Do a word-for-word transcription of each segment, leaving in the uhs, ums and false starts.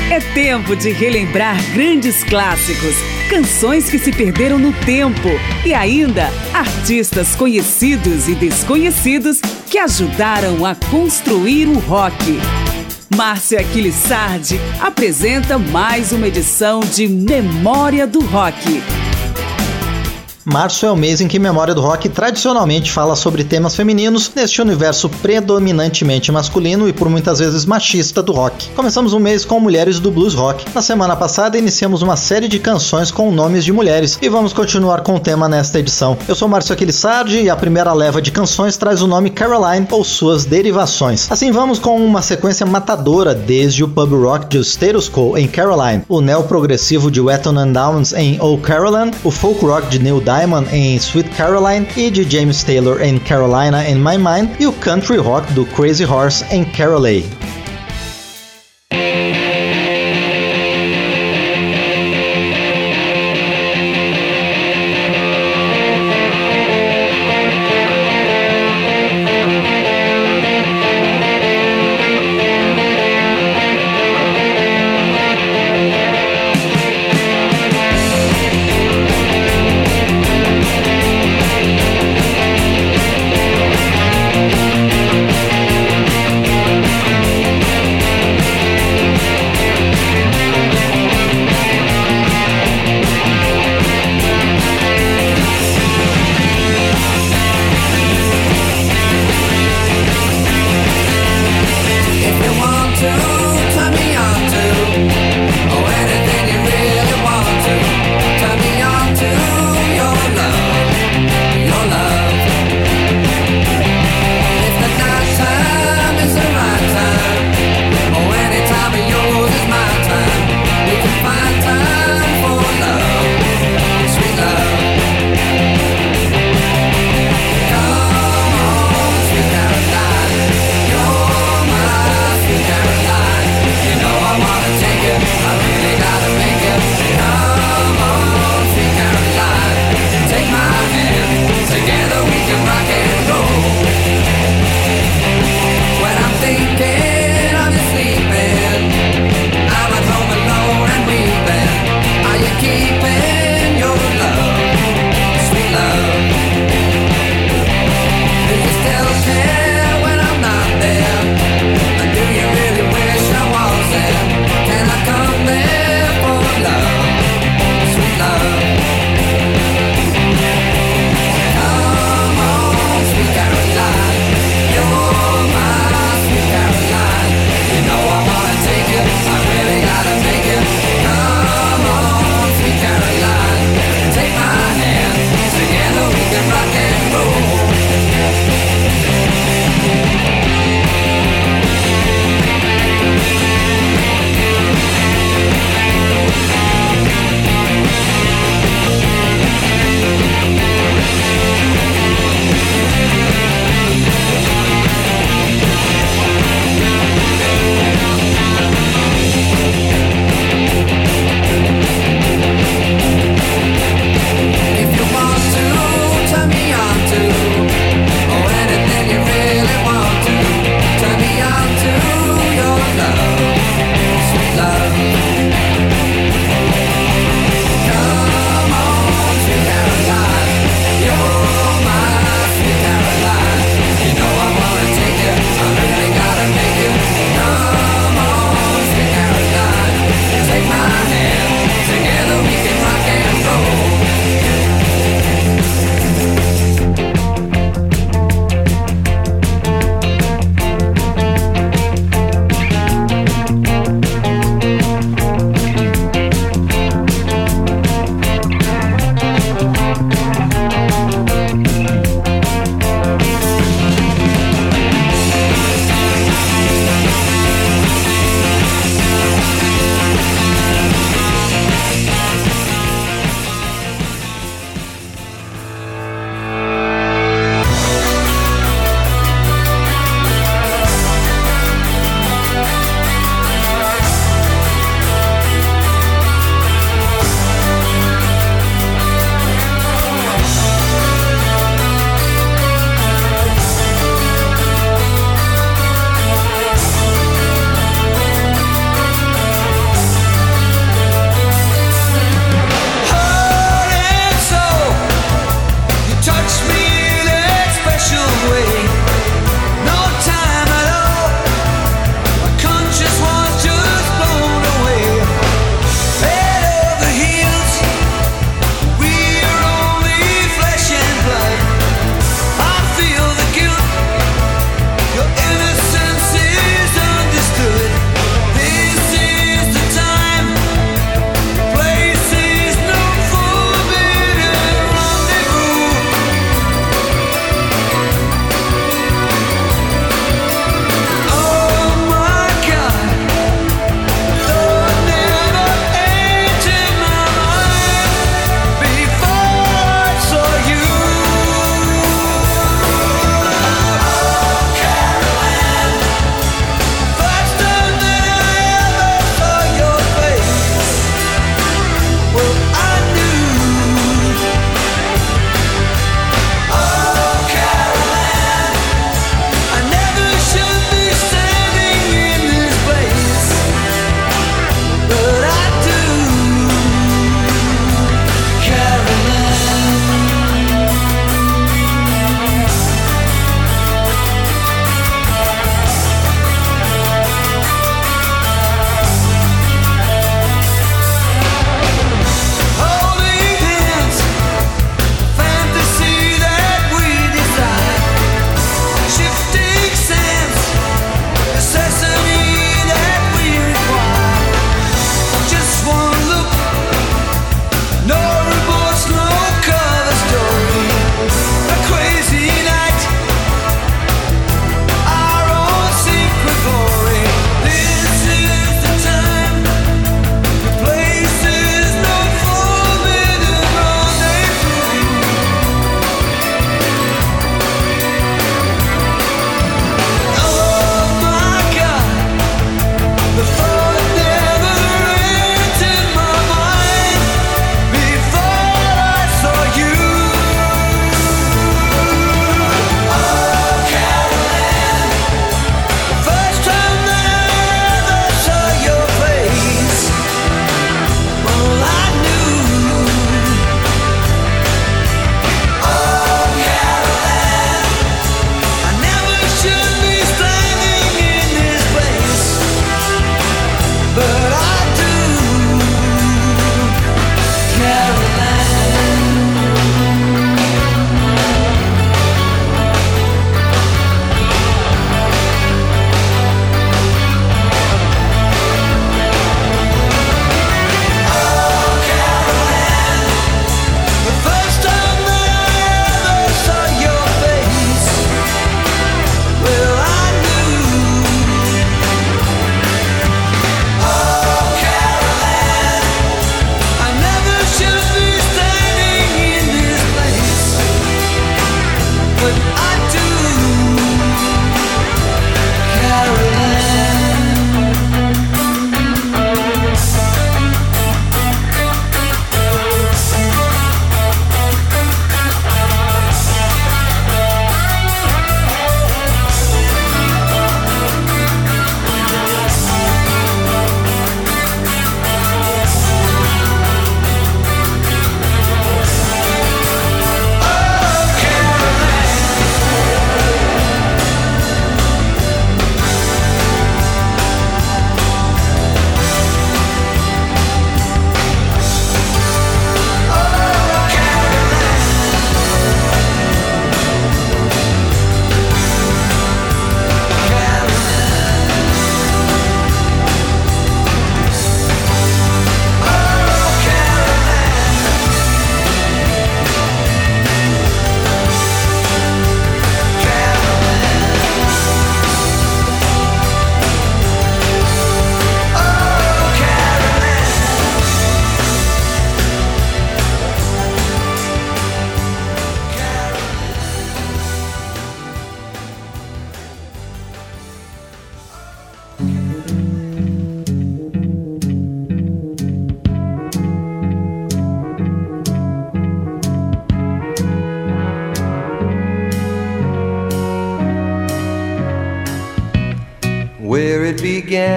É tempo de relembrar grandes clássicos, canções que se perderam no tempo e ainda artistas conhecidos e desconhecidos que ajudaram a construir o rock. Márcia Aquiles Sardi apresenta mais uma edição de Memória do Rock. Março é o mês em que Memória do Rock tradicionalmente fala sobre temas femininos neste universo predominantemente masculino e por muitas vezes machista do rock. Começamos o mês com mulheres do blues rock. Na semana passada iniciamos uma série de canções com nomes de mulheres e vamos continuar com o tema nesta edição. Eu sou Márcio Aquiles Sardi e a primeira leva de canções traz o nome Caroline ou suas derivações. Assim vamos com uma sequência matadora desde o pub rock de Status Quo em Caroline, o neo-progressivo de Wet and Downs em Oh Caroline, o folk rock de Neil Diamond em Sweet Caroline e de James Taylor em Carolina in My Mind e o country rock do Crazy Horse em Carolee. Caroline.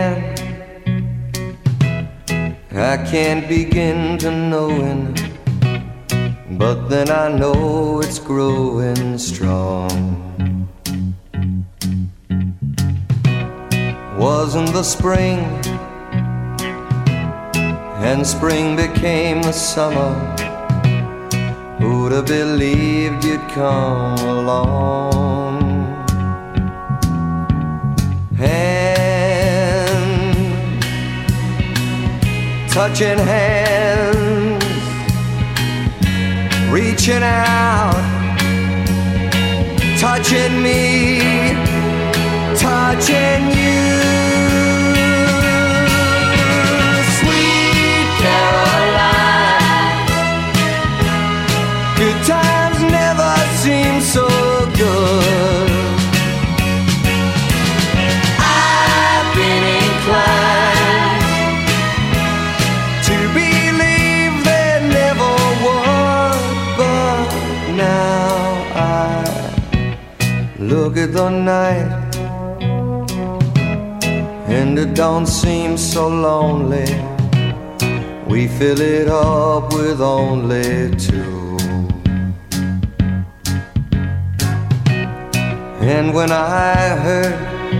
began, I can't begin to knowing, but then I know it's growing strong. Wasn't the spring, and spring became the summer. Who'd have believed you'd come along? Hand, touching hands, reaching out, touching me, touching you. Sweet Caroline, good times never seem so good. I've been inclined to believe there never was, but now I look at the night and it don't seem so lonely. We fill it up with only two. And when I hurt,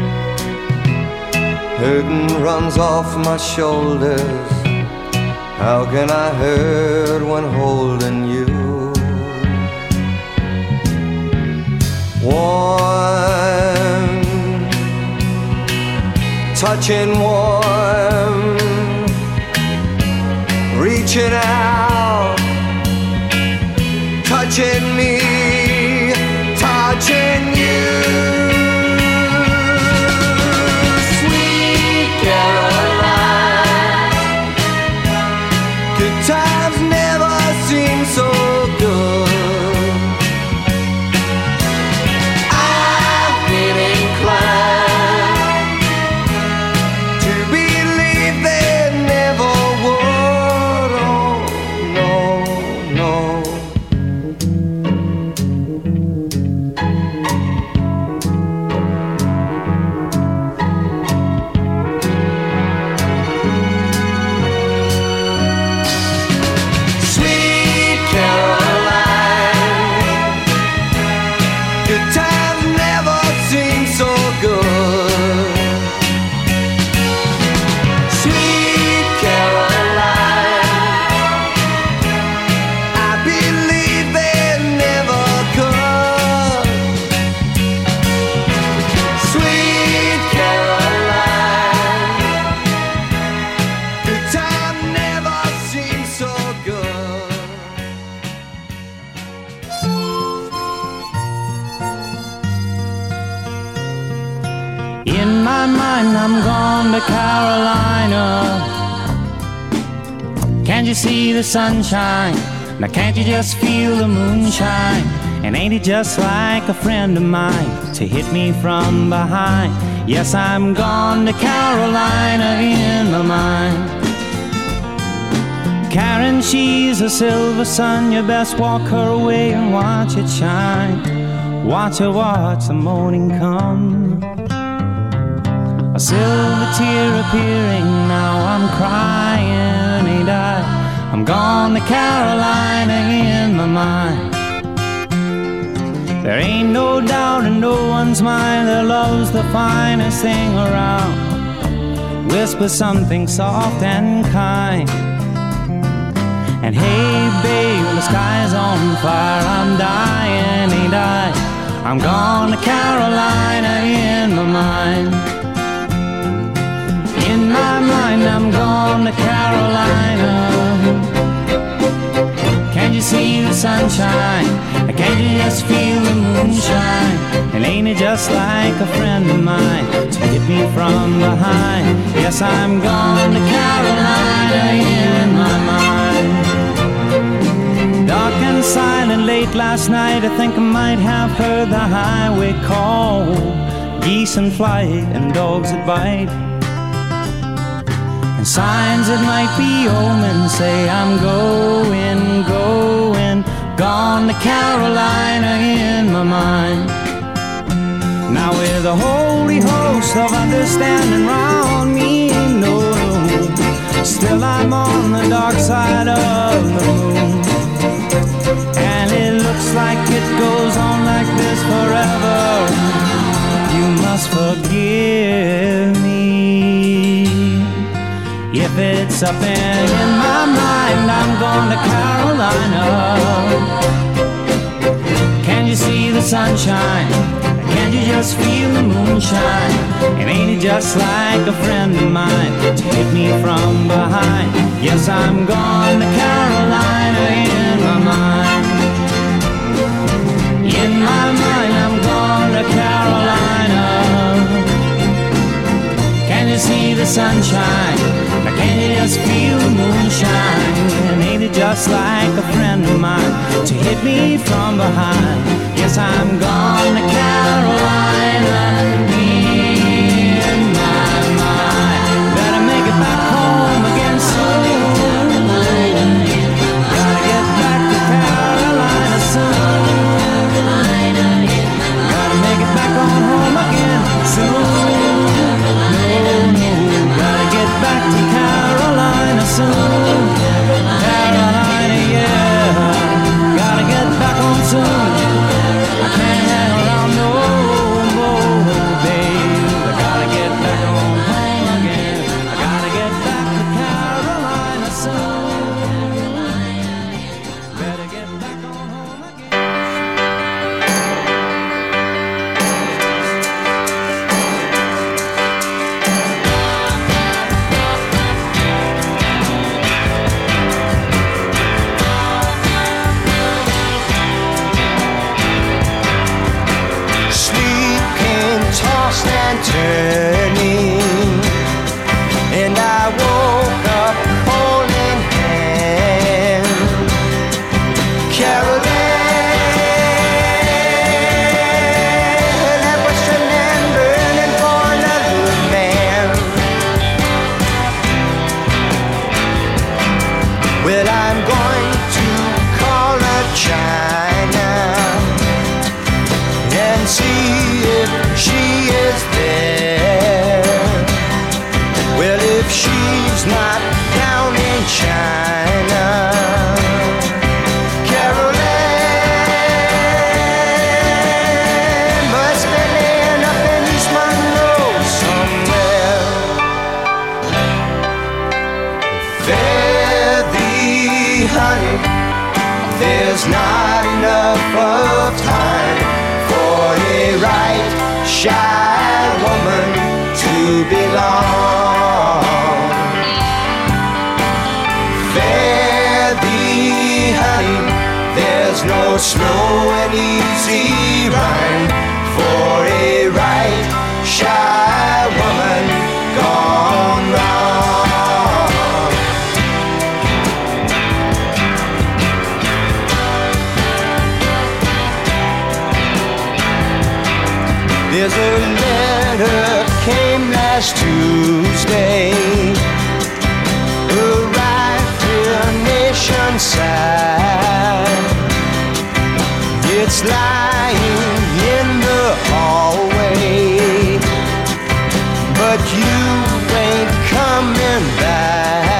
hurting runs off my shoulders. How can I hurt when holding you? Warm, touching warm, reaching out, touching me, touching you. Sweet Caroline, good times never seem so good. I've been inclined to believe there never would. Oh, no, no. Sweet Caroline, good times never seem so good. Sweet Caroline, I believe they never could. Sweet Caroline, good time never seems so good. In my mind, I'm gone to Carolina. Can't you see the sunshine? Now can't you just feel the moonshine? And ain't it just like a friend of mine to hit me from behind? Yes, I'm gone to Carolina in my mind. Karen, she's a silver sun. You best walk her away and watch it shine. Watch her watch the morning come. A silver tear appearing, now I'm crying, ain't I? I'm gone to Carolina in my mind. There ain't no doubt in no one's mind that love's the finest thing around. Whisper something soft and kind. And hey babe, the sky's on fire, I'm dying, ain't I? I'm gone to Carolina in my mind. In my mind, I'm gone to Carolina. Can't you see the sunshine? Can't you just feel the moonshine? And ain't it just like a friend of mine to hit me from behind? Yes, I'm gone to Carolina in my mind. Dark and silent late last night, I think I might have heard the highway call. Geese in flight and dogs that bite, and signs that might be omens say I'm going, going, gone to Carolina in my mind. Now with a holy host of understanding round me, If it's up and in my mind, I'm going to Carolina. Can you see the sunshine? Can you just feel the moonshine? And ain't it just like a friend of mine to hit me from behind? Yes, I'm going to Carolina in my mind. In my mind, I'm going to Carolina. Can you see the sunshine? Can you just feel the moonshine? And ain't it just like a friend of mine to hit me from behind? Yes, I'm gone to Carolina in my mind. Better make it back home again soon. Gotta get back to Carolina soon. Gotta make it back on home again soon. Gotta get back to Carolina soon. Carolina, yeah. Gotta get back home soon. I can't hang around no more, babe. I gotta get back home again. I gotta get back to Carolina soon. Better get back on home again. Turning, and I woke up holding hand. Caroline, that was your land burning for another man. Well, I'm going to call her China and see if she is there. Well, if she's not down in China, Caroline must be laying up in East Monroe somewhere. Fare thee, honey, there's not enough of time for a right shy woman to belong. Fare thee, honey, there's no slow and easy rhyme for a right shy woman gone wrong. There's a letter came last Tuesday, arrived here nation-side. It's lying in the hallway, but you ain't coming back.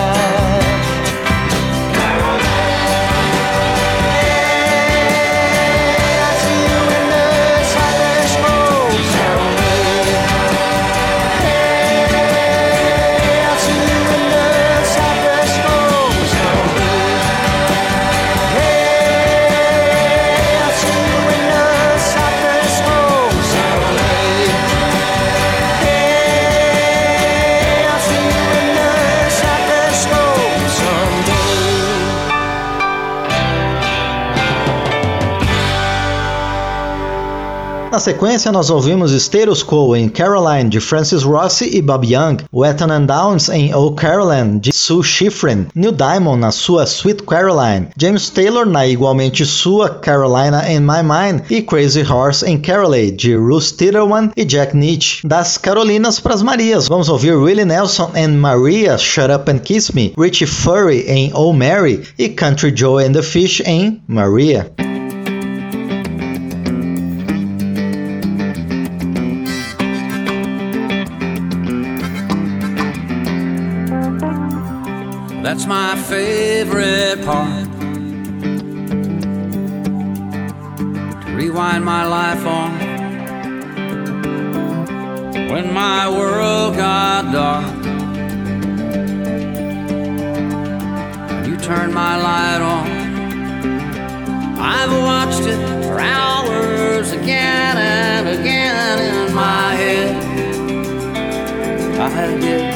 Na sequência, nós ouvimos Status Quo em Caroline, de Francis Rossi e Bob Young, Wheaton and Downs em Oh Caroline, de Sue Schifrin, Neil Diamond na sua Sweet Caroline, James Taylor na igualmente sua Carolina in My Mind e Crazy Horse em Carolee, de Ruth Titelman e Jack Nitzsche. Das Carolinas pras Marias, vamos ouvir Willie Nelson and Maria, Shut Up and Kiss Me, Richie Furay em Oh Mary e Country Joe and the Fish em Maria. That's my favorite part, to rewind my life on. When my world got dark, turn my light on. I've watched it for hours again and again in my head. I did.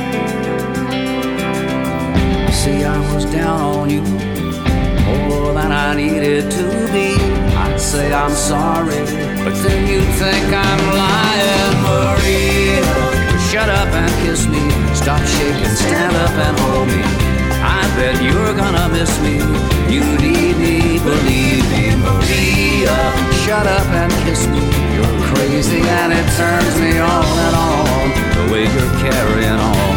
See, I was down on you more than I needed to be. I'd say I'm sorry, but then you think I'm lying. Maria, shut up and kiss me. Stop shaking, stand up and hold me. I bet you're gonna miss me. You need me, believe me. Maria, shut up and kiss me. You're crazy and it turns me on and on, the way you're carrying on.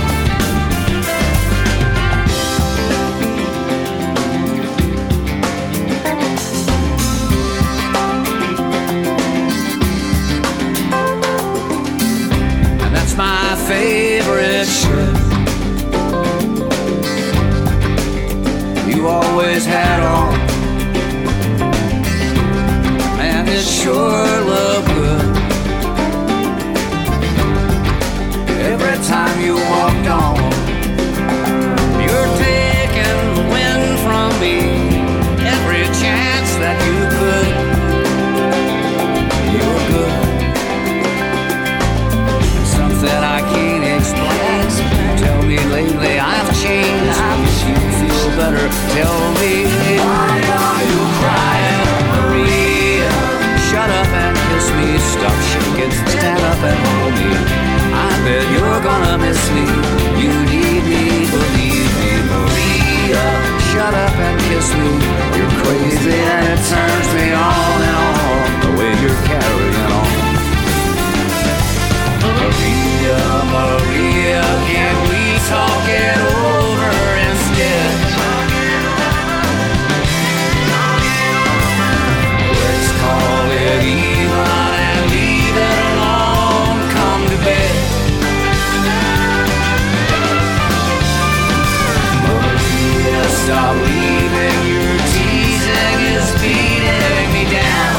My favorite shirt. You always had on, and it sure looked good. Every time you walked on, you're taking the wind from me. Every chance that you could, you're good. That I can't explain. Tell me lately I've changed. If you feel better, tell me. Why are you crying, Maria? Shut up and kiss me. Stop shaking, stand up and hold me. I bet you're gonna miss me. You need me, believe me, Maria. Shut up and kiss me. You're crazy and it turns me on and on, the way you're carrying on. Maria, Maria, can we talk it over instead? Let's call it even and leave it alone. Come to bed. Maria, stop leaving. Your teasing is beating me down.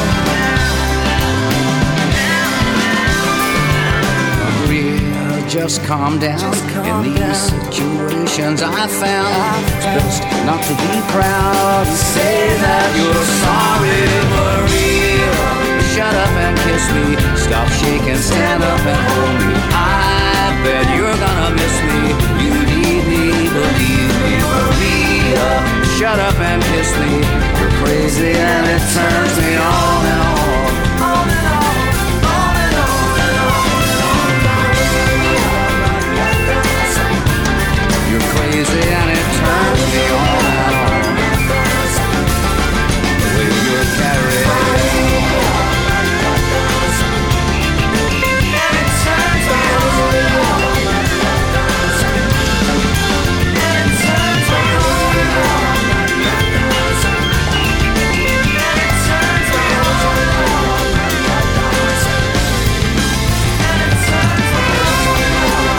Just calm down. Just calm In these down. situations I found it's best not to be proud. Say that you're sorry, Maria. Shut up and kiss me. Stop shaking, stand up and hold me. I bet you're gonna miss me. You need me, believe me, Maria. Shut up and kiss me. You're crazy and it turns me on and on, on and on. Crazy and it turns me on and on, the way you're carrying on. And it turns me on and on, and it turns me on and on, and it turns me on and on, and it turns me on.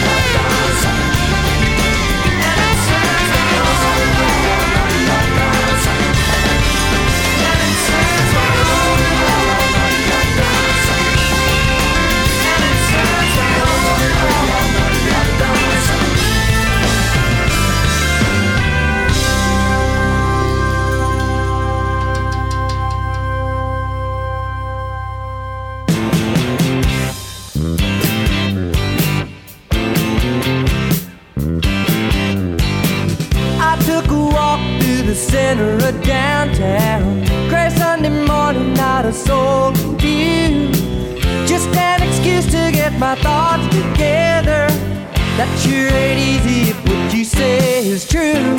The center of downtown, gray Sunday morning, not a soul in view. Just an excuse to get my thoughts together. That sure ain't easy if what you say is true.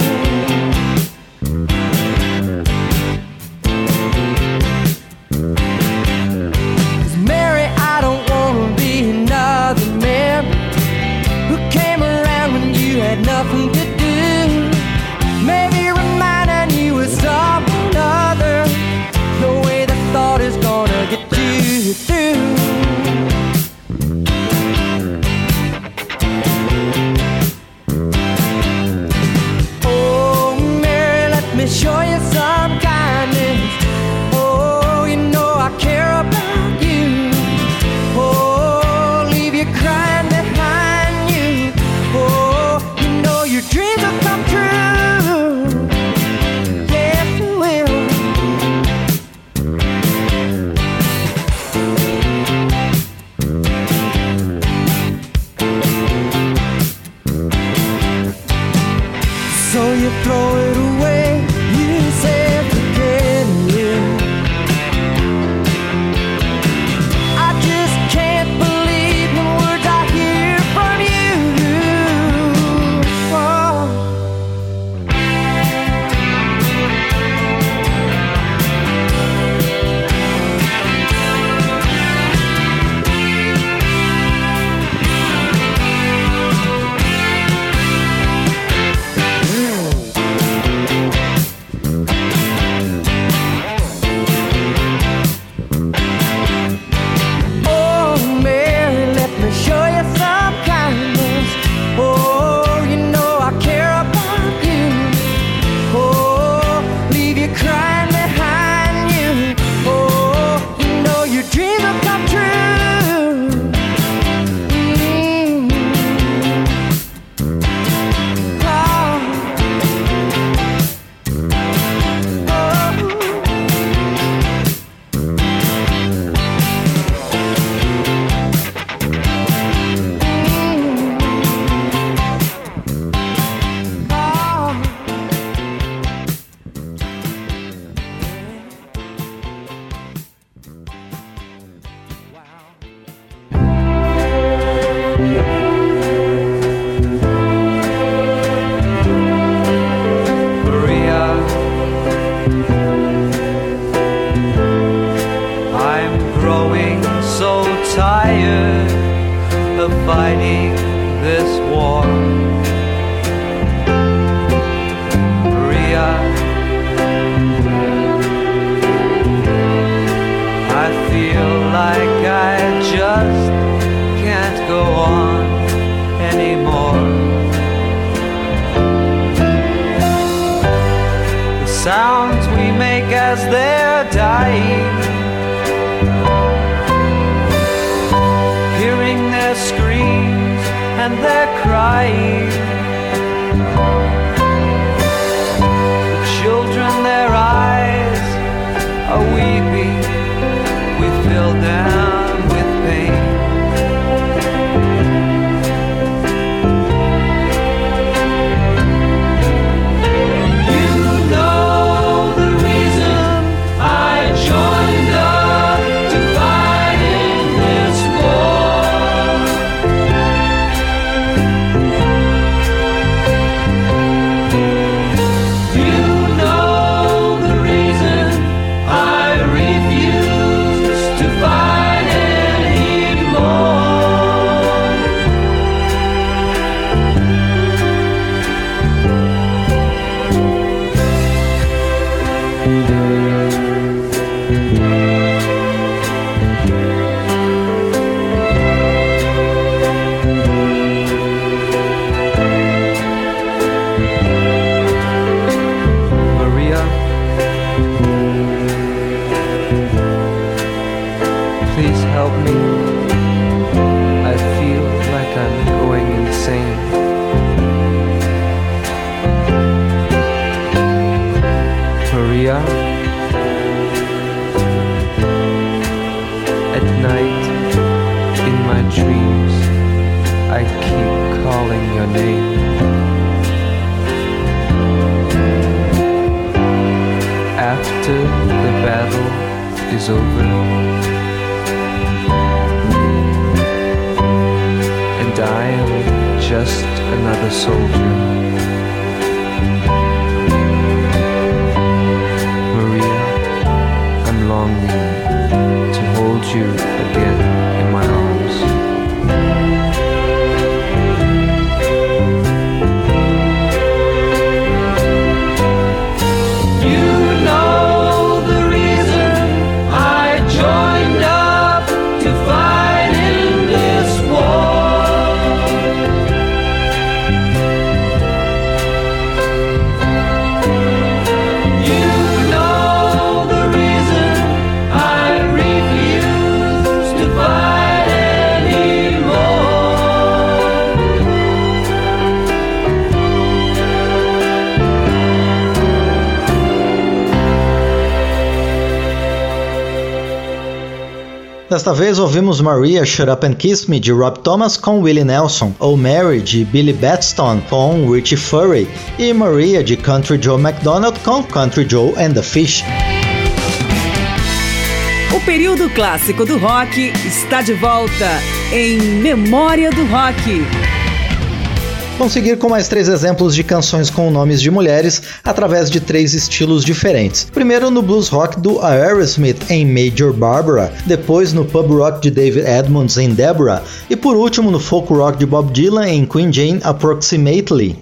Cause Mary, I don't wanna be another man who came around when you had nothing to do. Maybe reminding you of someone other. No way the thought is gonna get you through. Oh, Mary, let me show you some kindness. Oh, you know I care about you. Oh, leave you crying behind you. Oh, you know your dreams you throw it away. You said forget it. I just can't believe the words I hear from you. Oh. Fighting this war, Maria. I feel like I just can't go on anymore. The sounds we make as they're dying, hearing their screams and their crying, the children, their eyes are weeping, we fill them with pain. You know the reason I joined up to fight in this war. You know the reason I refuse to fight anymore. Maria, please help me. I feel like I'm going insane. Maria, at night in my dreams I keep calling your name. After the battle is over and I am just another soldier, Maria, I'm longing to hold you again in my arms. You know the reason I joined up to fight in this war. Desta vez ouvimos Maria Shut Up and Kiss Me de Rob Thomas com Willie Nelson, Oh Mary de Billy Batson com Richie Furay e Maria de Country Joe McDonald com Country Joe and the Fish. O período clássico do rock está de volta em Memória do Rock. Vamos seguir com mais três exemplos de canções com nomes de mulheres através de três estilos diferentes. Primeiro no blues rock do Aerosmith em Major Barbara, depois no pub rock de David Edmonds em Deborah e por último no folk rock de Bob Dylan em Queen Jane Approximately.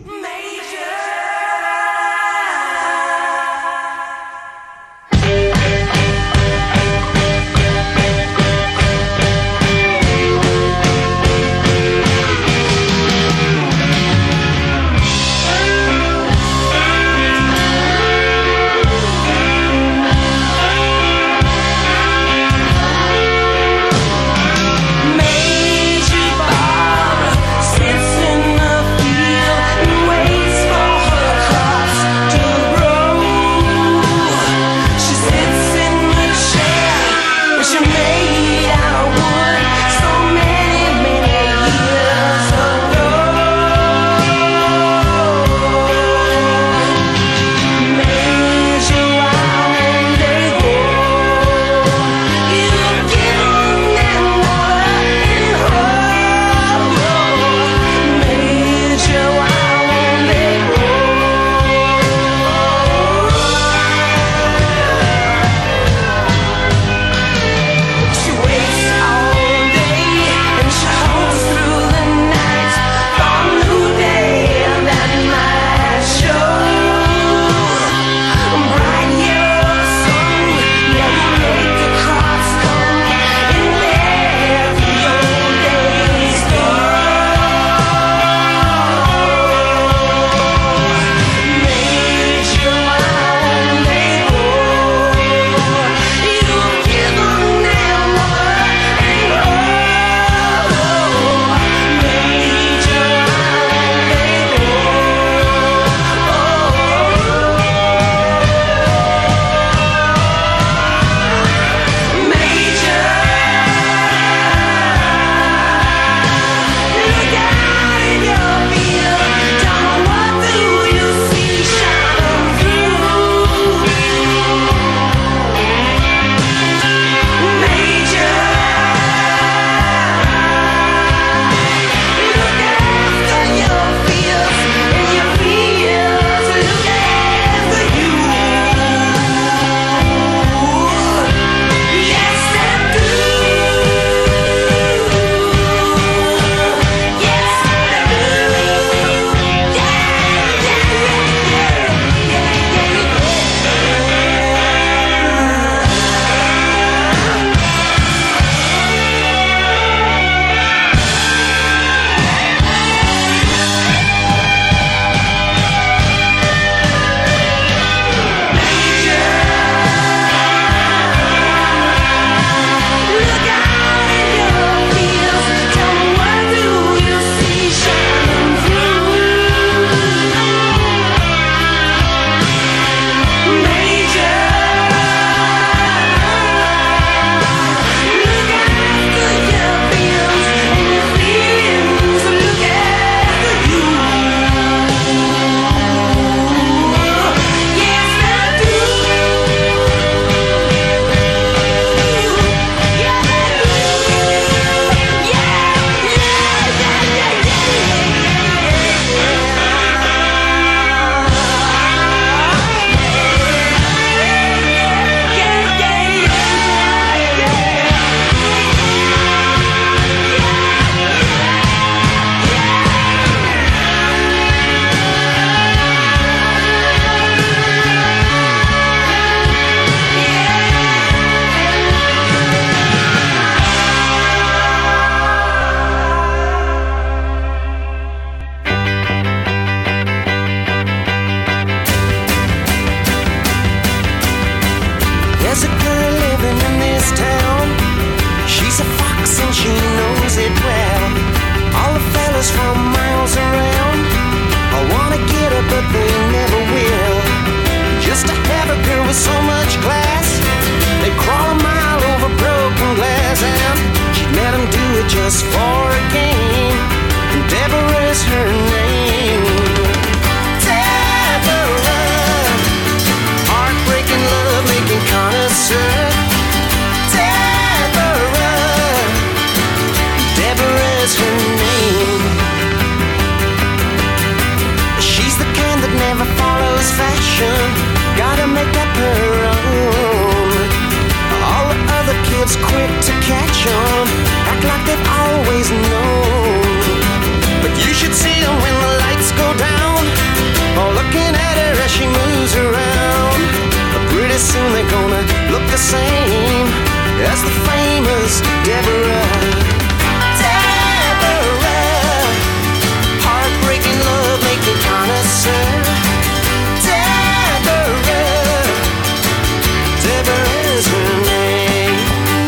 with so much class. They crawl a mile over broken glass and same as the famous Deborah. Deborah, heartbreaking love making connoisseur. Deborah, Deborah's her name.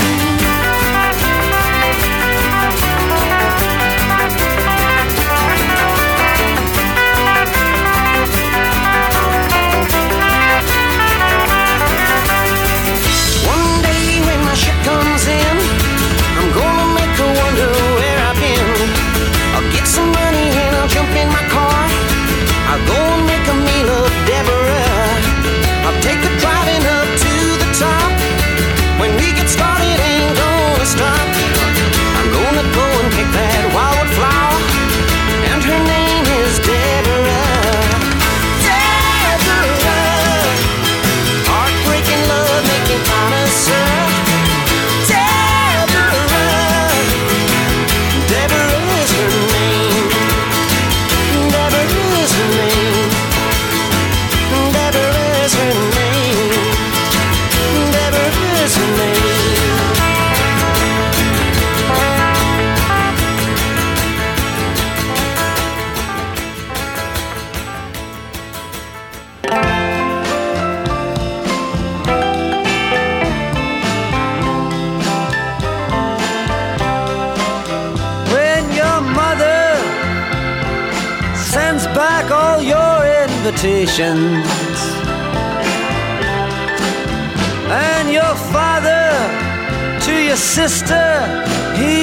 One day when my ship comes in, I'm gonna make her wonder where I've been. I'll get some money and I'll jump in my car. I'll go and make a meal of Deborah. I'll take her driving up to the top. When we get started, ain't gonna stop. I'm gonna go and pick that wildwood flower, and her name is Deborah. Deborah, heartbreaking love making connoisseur. Deborah, Deborah is her name. Deborah is her name. Deborah is her name. Deborah is her name. When your mother sends back all your invitations, and your father to your sister he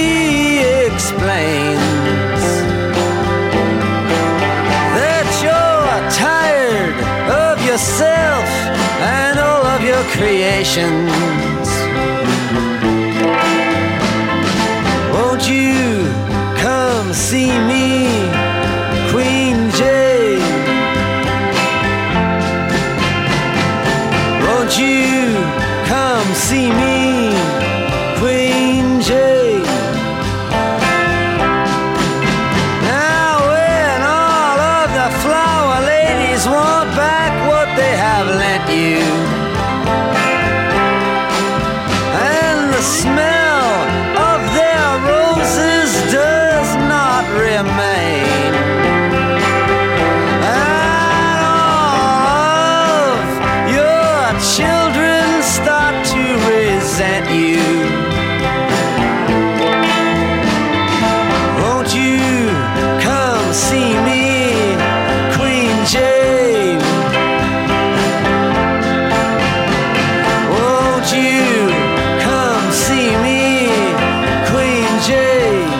explains that you're tired of yourself and all of your creations. Won't you come see me, Queen Jane? Won't you come see me, Queen Jane? Now when all of the flower ladies want back what they have lent you, and the smell of their roses does not remain, and all of your children start to resent you, won't you come see me, Queen Jane? Won't you come see me, Queen Jane?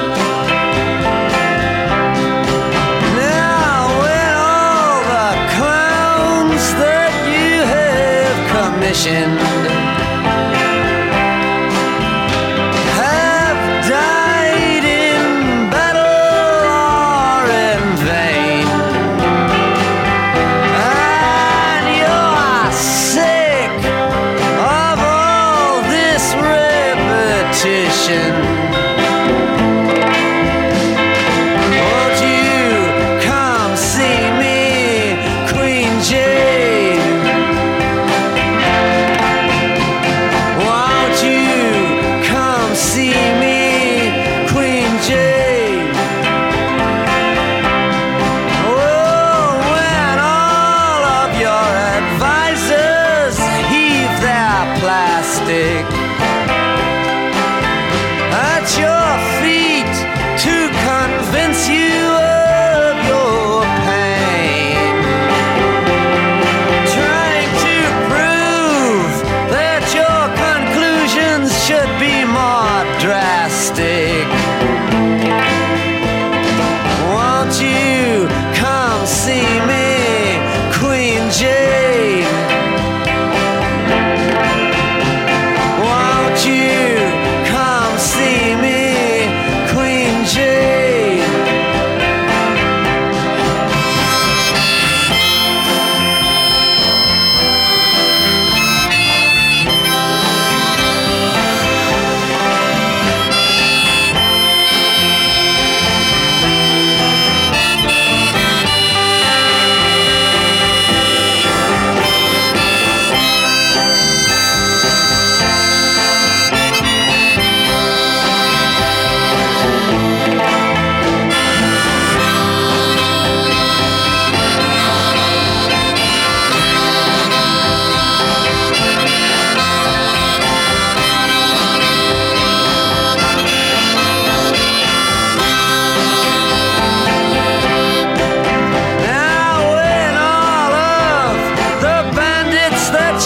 Now when all the clowns that you have commissioned have died in battle or in vain, and you're sick of all this repetition, won't you come see me, Queen Jane?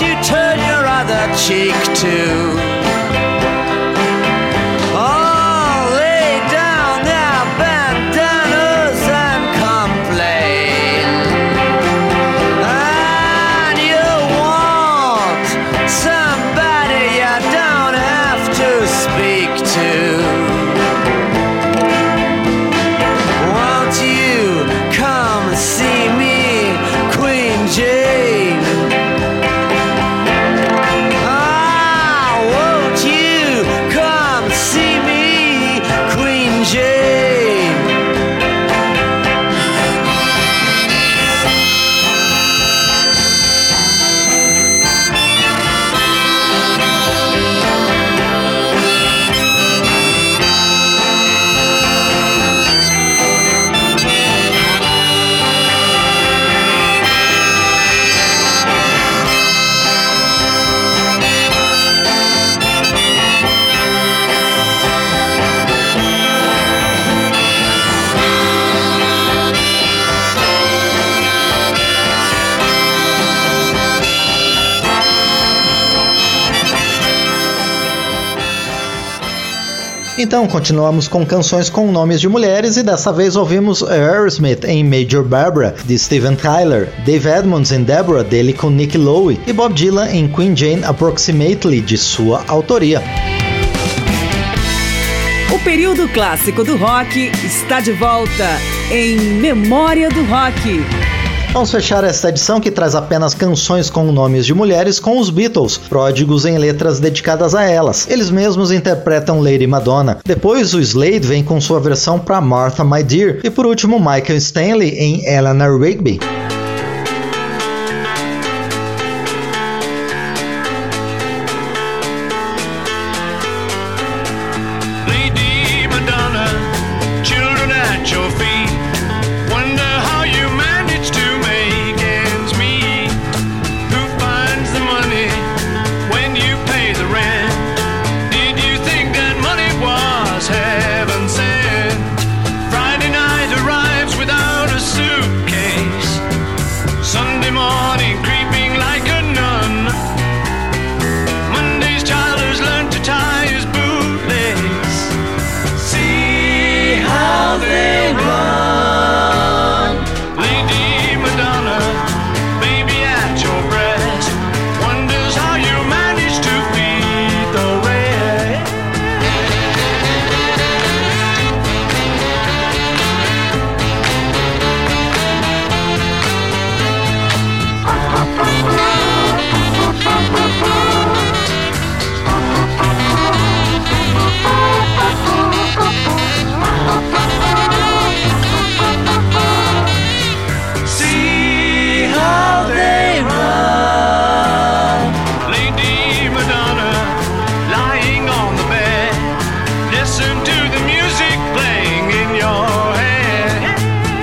you turn your other cheek to? Oh, lay down their bandanas and complain. And you want somebody you don't have to speak to. Won't you come see me, Queen Jane? Ah, won't you come see me, Queen Jane? Então, continuamos com canções com nomes de mulheres e dessa vez ouvimos Aerosmith em Major Barbara, de Steven Tyler, Dave Edmunds em Deborah, dele com Nick Lowe, e Bob Dylan em Queen Jane Approximately, de sua autoria. O período clássico do rock está de volta em Memória do Rock. Vamos fechar esta edição que traz apenas canções com nomes de mulheres com os Beatles, pródigos em letras dedicadas a elas. Eles mesmos interpretam Lady Madonna. Depois o Slade vem com sua versão para Martha My Dear. E por último Michael Stanley em Eleanor Rigby. Lady Madonna, children at your feet, wonder how you manage to make ends meet. Who finds the money when you pay the rent? Did you think that money was heaven sent? Friday night arrives without a suitcase, Sunday morning creeping like a nun. Monday's child has learned to tie his bootlace. See how they run. Lady Madonna, baby at your breast, wonders how you manage to feed the rest. See how they run. Lady Madonna, lying on the bed, listen to the music playing in your head.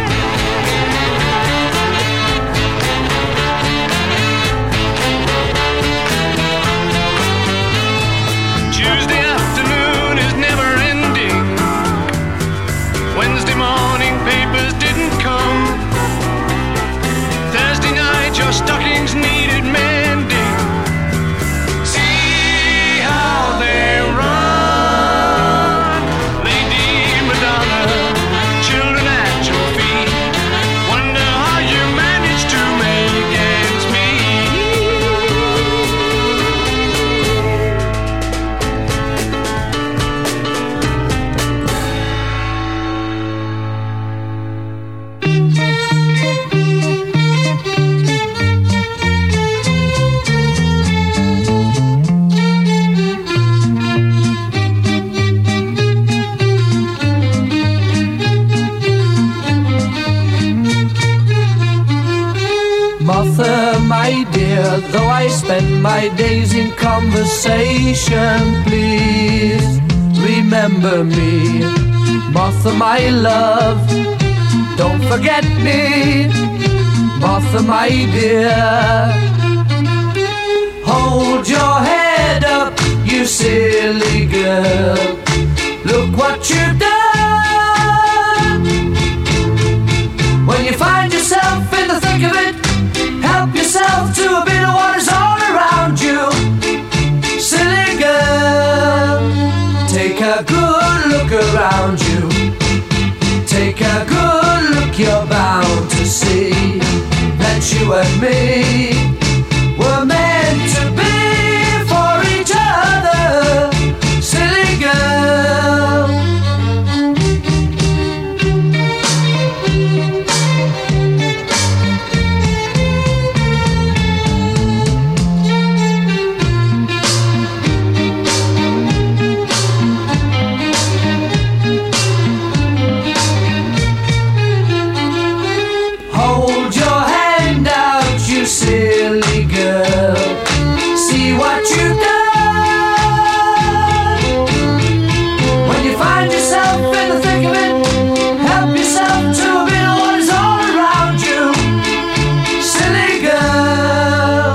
Tuesday afternoon is never ending. Wednesday morning papers didn't come. Thursday night your stockings needed mending. See how they run. Lady Madonna, children at your feet, wonder how you manage to make ends meet. Martha, my dear, though I spend my days in conversation, please remember me. Martha, my love, don't forget me. Martha, my dear, hold your head up, you silly girl. Look what you've done. When you find yourself in the thick of it, help yourself to a bit of water's all around. you and me were meant to be for each other, silly girl. Hold your hand out, you silly girl. See what you've done. When you find yourself in the thick of it, help yourself to a bit of what is all around you, silly girl.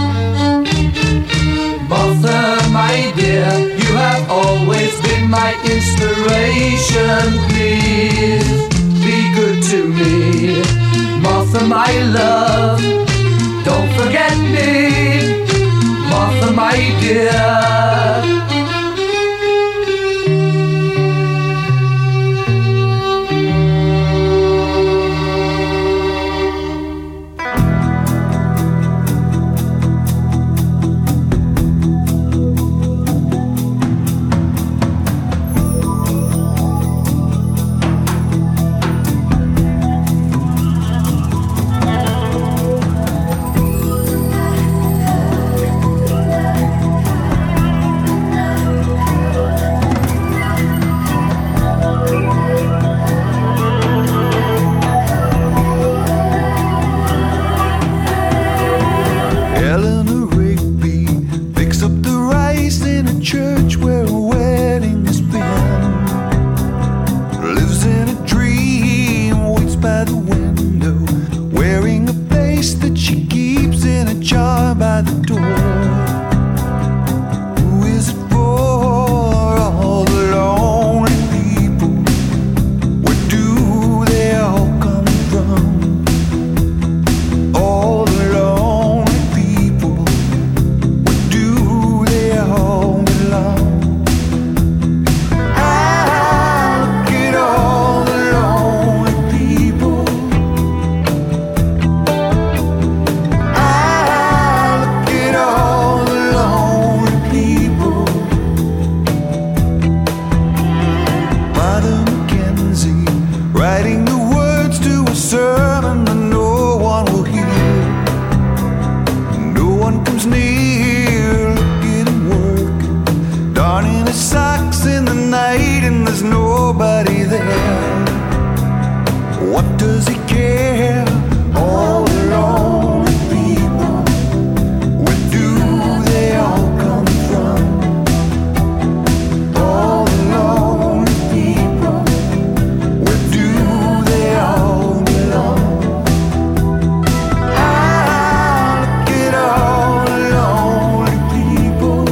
Martha, my dear, you have always been my inspiration. Please be good to me, Martha, my love. Don't forget me, Martha, my dear. Eleanor Rigby picks up the rice in a church where a wedding has been. Lives in a dream, waits by the window, wearing a face that she keeps in a jar by the door. Who is it for? All the lonely people. Where do they all come from? All the lonely people. Where do they all belong? Ah, look at all the lonely people. Ah, look at all the lonely people. Mother Mackenzie writing the words to a sermon that no one will hear. No one comes near. Look at him work, darning his socks in the night, and there's nobody there. What does he care? All the lonely people. Where do they all come from? All the lonely people. Where do they all belong? Ah, look at all the lonely people.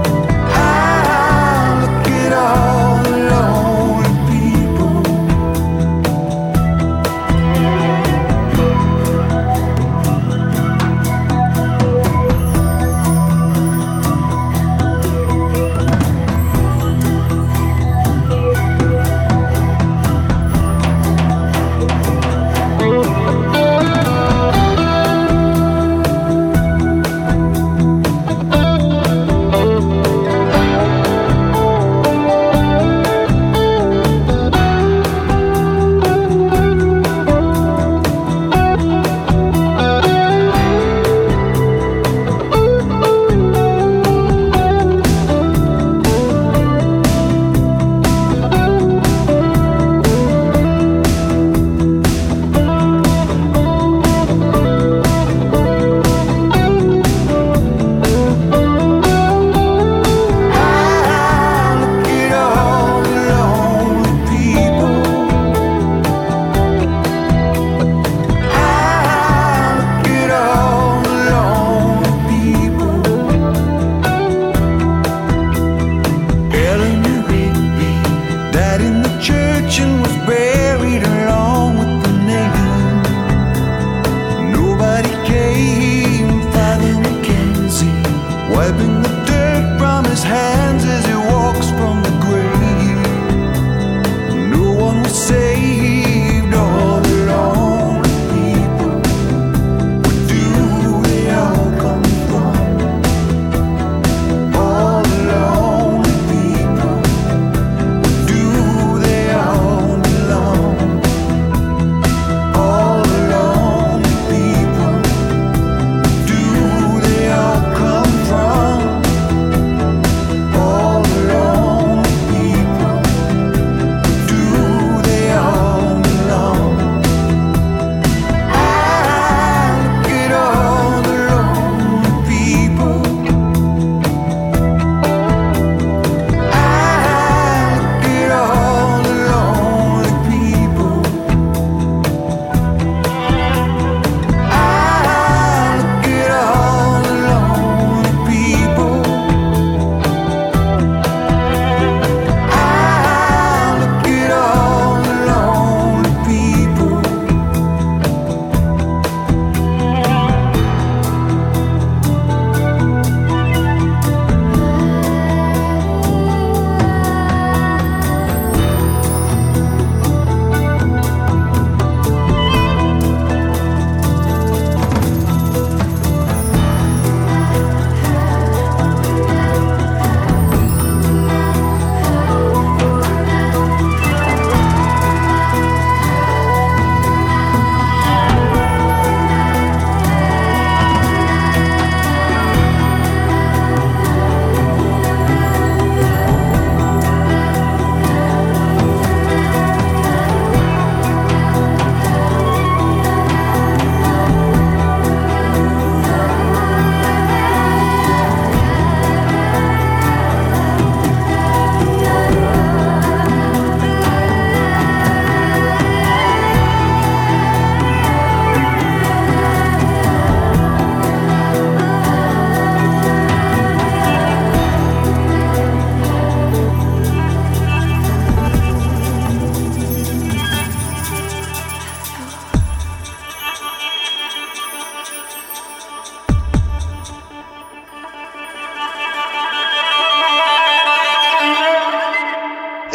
Ah, look at all the lonely people.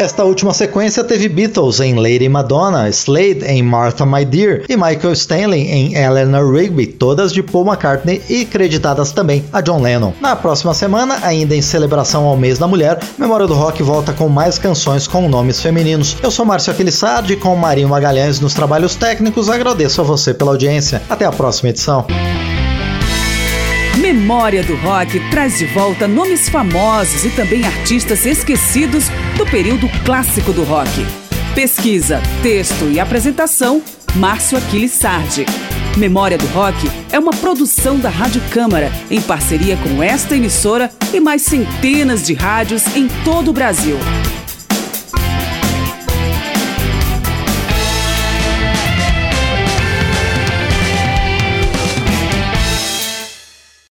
Esta última sequência teve Beatles em Lady Madonna, Slade em Martha My Dear e Michael Stanley em Eleanor Rigby, todas de Paul McCartney e creditadas também a John Lennon. Na próxima semana, ainda em celebração ao mês da mulher, Memória do Rock volta com mais canções com nomes femininos. Eu sou Márcio Aquilissardi e com Marinho Magalhães nos trabalhos técnicos, agradeço a você pela audiência. Até a próxima edição. Memória do Rock traz de volta nomes famosos e também artistas esquecidos do período clássico do rock. Pesquisa, texto e apresentação, Márcio Aquilissardi. Memória do Rock é uma produção da Rádio Câmara, em parceria com esta emissora e mais centenas de rádios em todo o Brasil.